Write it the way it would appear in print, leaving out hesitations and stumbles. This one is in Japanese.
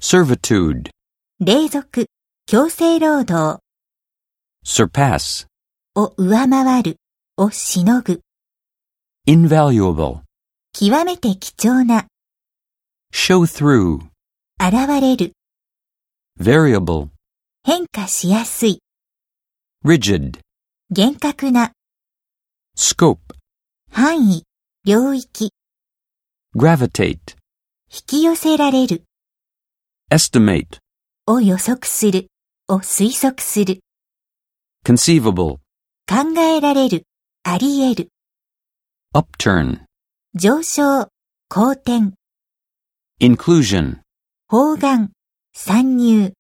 servitude, 隷属、強制労働 surpass, を上回る、をしのぐ、 invaluable, 極めて貴重な、 show through, 現れる、 variable, 変化しやすい、 rigid, 厳格な、 scope, 範囲、領域、 gravitate, 引き寄せられる、 estimate, を予測する、を推測する、 conceivable, 考えられる、あり得る、 upturn, 上昇、好転、 inclusion, 包含、参入。